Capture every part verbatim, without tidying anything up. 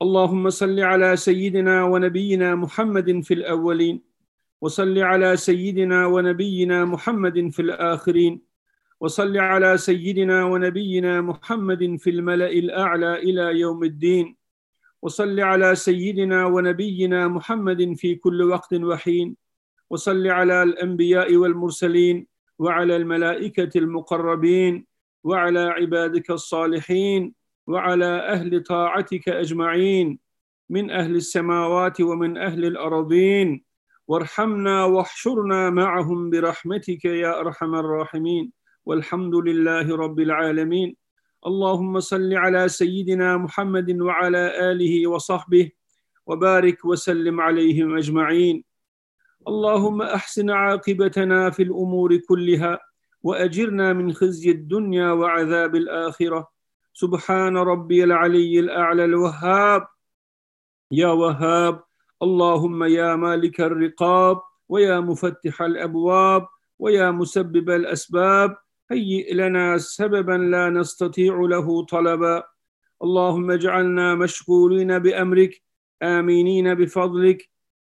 اللهم صل على سيدنا ونبينا محمد في الأولين، وصل على سيدنا ونبينا محمد في الآخرين، وصل على سيدنا ونبينا محمد في الملأ الأعلى إلى يوم الدين، وصل على سيدنا ونبينا محمد في كل وقت وحين، وصل على الأنبياء والمرسلين وعلى الملائكة المقربين وعلى عبادك الصالحين وعلى أهل طاعتك أجمعين من أهل السماوات ومن أهل الأرضين، وارحمنا واحشرنا معهم برحمتك يا أرحم الراحمين، والحمد لله رب العالمين. اللهم صل على سيدنا محمد وعلى آله وصحبه وبارك وسلم عليهم أجمعين. اللهم أحسن عاقبتنا في الأمور كلها وأجرنا من خزي الدنيا وعذاب الآخرة. سبحان ربي العلي الأعلى الوهاب يا وهاب. اللهم يا مالك الرقاب ويا مفتح الأبواب ويا مسبب الأسباب، هيئ لنا سببا لا نستطيع له طلبا. اللهم اجعلنا مشغولين بأمرك، آمينين بفضلك،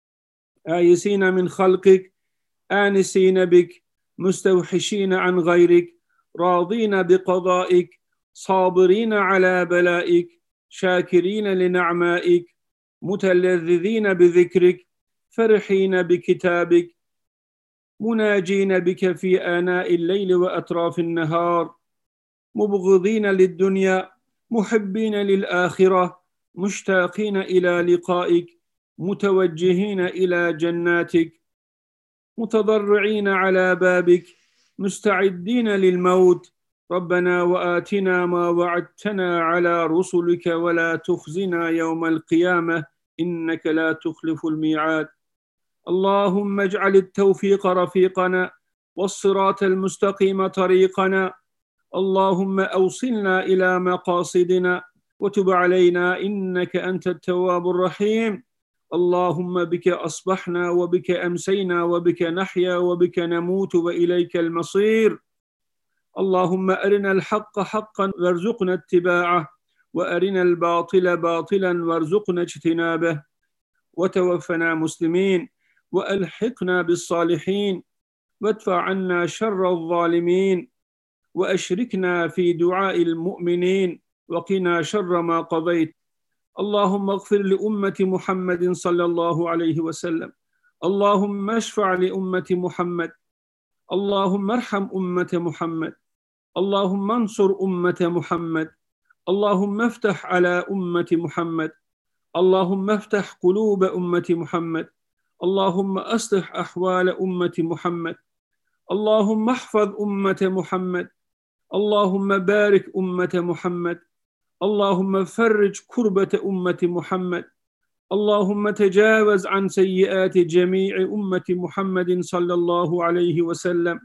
آيسين من خلقك، آنسين بك، مستوحشين عن غيرك، راضين بقضائك، صابرين على بلائك، شاكرين لنعمائك، متلذذين بذكرك، فرحين بكتابك، مناجين بك في آناء الليل وأطراف النهار، مبغضين للدنيا، محبين للآخرة، مشتاقين إلى لقائك، متوجهين إلى جناتك، متضرعين على بابك، مستعدين للموت. ربنا وآتنا ما وعدتنا على رسلك ولا تخزنا يوم القيامة إنك لا تخلف الميعاد. اللهم اجعل التوفيق رفيقنا والصراط المستقيم طريقنا. اللهم أوصلنا إلى مقاصدنا وتب علينا إنك أنت التواب الرحيم. اللهم بك أصبحنا وبك أمسينا وبك نحيا وبك نموت وإليك المصير. اللهم أرنا الحق حقا وارزقنا اتباعه، وأرنا الباطل باطلا وارزقنا اجتنابه، وتوفنا مسلمين وألحقنا بالصالحين، وادفع عنا شر الظالمين، وأشركنا في دعاء المؤمنين، وقنا شر ما قضيت. اللهم اغفر لأمة محمد صلى الله عليه وسلم. اللهم اشفع لأمة محمد. اللهم ارحم أمة محمد. اللهم انصر أمة محمد. اللهم افتح على أمة محمد. اللهم افتح قلوب أمة محمد. اللهم أصلح أحوال أمة محمد. اللهم احفظ أمة محمد. اللهم بارك أمة محمد. اللهم فرج كربة أمة محمد. اللهم تجاوز عن سيئات جميع أمة محمد صلى الله عليه وسلم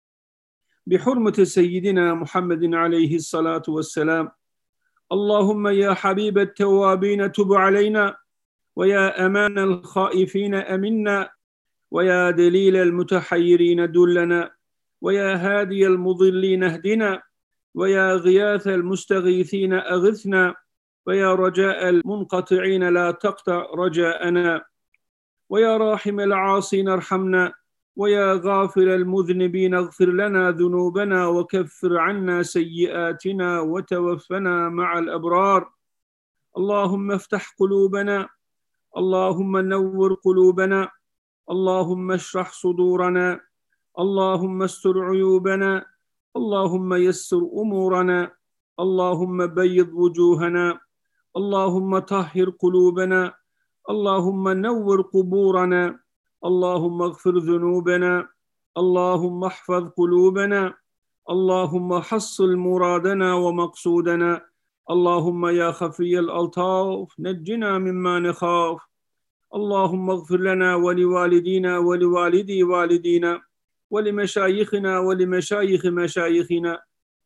بحرمة سيدنا محمد عليه الصلاة والسلام. اللهم يا حبيب التوابين تب علينا، ويا أمان الخائفين أمنا، ويا دليل المتحيرين دلنا، ويا هادي المضلين اهدنا، ويا غياث المستغيثين أغثنا، ويا رجاء المنقطعين لا تقطع رجاءنا، ويا راحم العاصين ارحمنا، ويا غافر المذنبين اغفر لنا ذنوبنا وكفر عنا سيئاتنا وتوفنا مع الأبرار. اللهم افتح قلوبنا. اللهم نور قلوبنا. اللهم اشرح صدورنا. اللهم استر عيوبنا. اللهم يسر أمورنا. اللهم بيض وجوهنا. اللهم طهر قلوبنا. اللهم نور قبورنا. اللهم اغفر ذنوبنا. اللهم احفظ قلوبنا. اللهم حصل مرادنا ومقصودنا. اللهم يا خفي الألطاف نجنا مما نخاف. اللهم اغفر لنا ولوالدينا ولوالدي والدينا ولمشايخنا ولمشايخ مشايخنا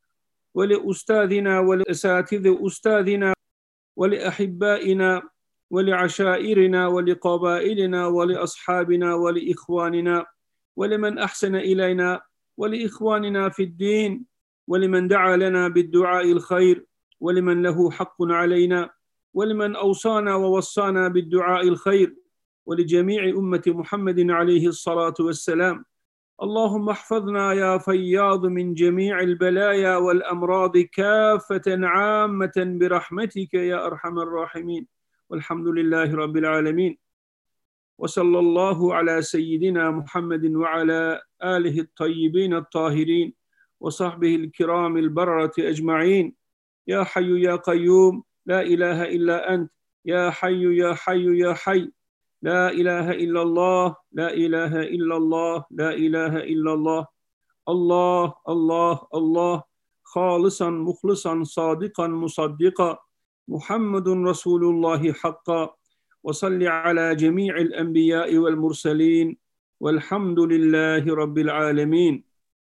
ولأستاذنا ولأساتذ أستاذنا ولأحبائنا ولعشائرنا ولقبائلنا ولأصحابنا ولإخواننا ولمن أحسن إلينا ولإخواننا في الدين ولمن دعا لنا بالدعاء الخير ولمن له حق علينا ولمن أوصانا ووصانا بالدعاء الخير ولجميع أمة محمد عليه الصلاة والسلام. اللهم احفظنا يا فياض من جميع البلايا والأمراض كافة عامة برحمتك يا أرحم الراحمين، والحمد لله رب العالمين. وصلى الله على سيدنا محمد وعلى آله الطيبين الطاهرين وصحبه الكرام البررة أجمعين. يا حي يا قيوم لا إله إلا أنت، يا حي يا حي يا حي، لا إله إلا الله، لا إله إلا الله، لا إله إلا الله. الله الله الله، خالصا مخلصا صادقا مصدقا، محمد رسول الله حقا. وصل على جميع الأنبياء والمرسلين، والحمد لله رب العالمين.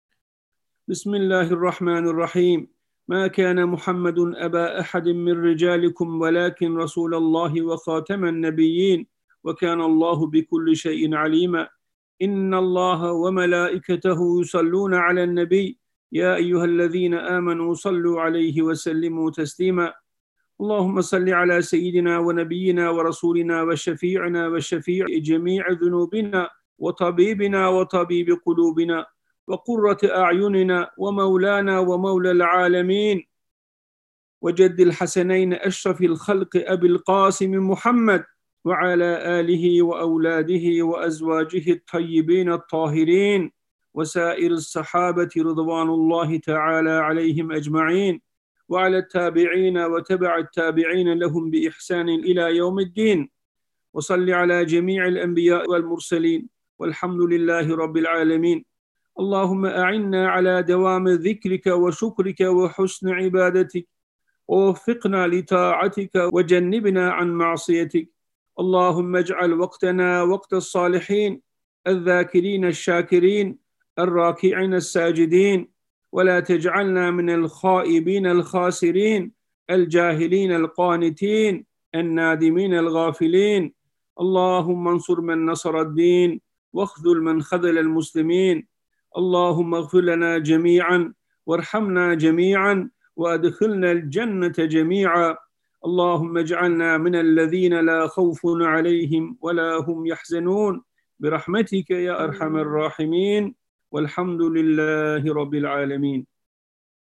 بسم الله الرحمن الرحيم. ما كان محمد أبا أحد من رجالكم ولكن رسول الله وخاتم النبيين وكان الله بكل شيء عليما. إن الله وملائكته يصلون على النبي يا أيها الذين آمنوا صلوا عليه وسلموا تسليما. اللهم صل على سيدنا ونبينا ورسولنا وشفيعنا وشفيع جميع ذنوبنا وطبيبنا وطبيب قلوبنا وقرة أعيننا ومولانا ومولى العالمين وجد الحسنين أشرف الخلق أبي القاسم محمد وعلى آله وأولاده وأزواجه الطيبين الطاهرين وسائر الصحابة رضوان الله تعالى عليهم أجمعين، وعلى التابعين وتبع التابعين لهم بإحسان إلى يوم الدين. وصل على جميع الأنبياء والمرسلين، والحمد لله رب العالمين. اللهم أعنا على دوام ذكرك وشكرك وحسن عبادتك، ووفقنا لطاعتك وجنبنا عن معصيتك. اللهم اجعل وقتنا وقت الصالحين الذاكرين الشاكرين الراكعين الساجدين، ولا تجعلنا من الخائبين الخاسرين الجاهلين القانتين النادمين الغافلين. اللهم انصر من نصر الدين واخذل من خذل المسلمين. اللهم اغفر لنا جميعا وارحمنا جميعا وادخلنا الجنة جميعا. اللهم اجعلنا من الذين لا خوف عليهم ولا هم يحزنون برحمتك يا أرحم الراحمين، والحمد لله رب العالمين.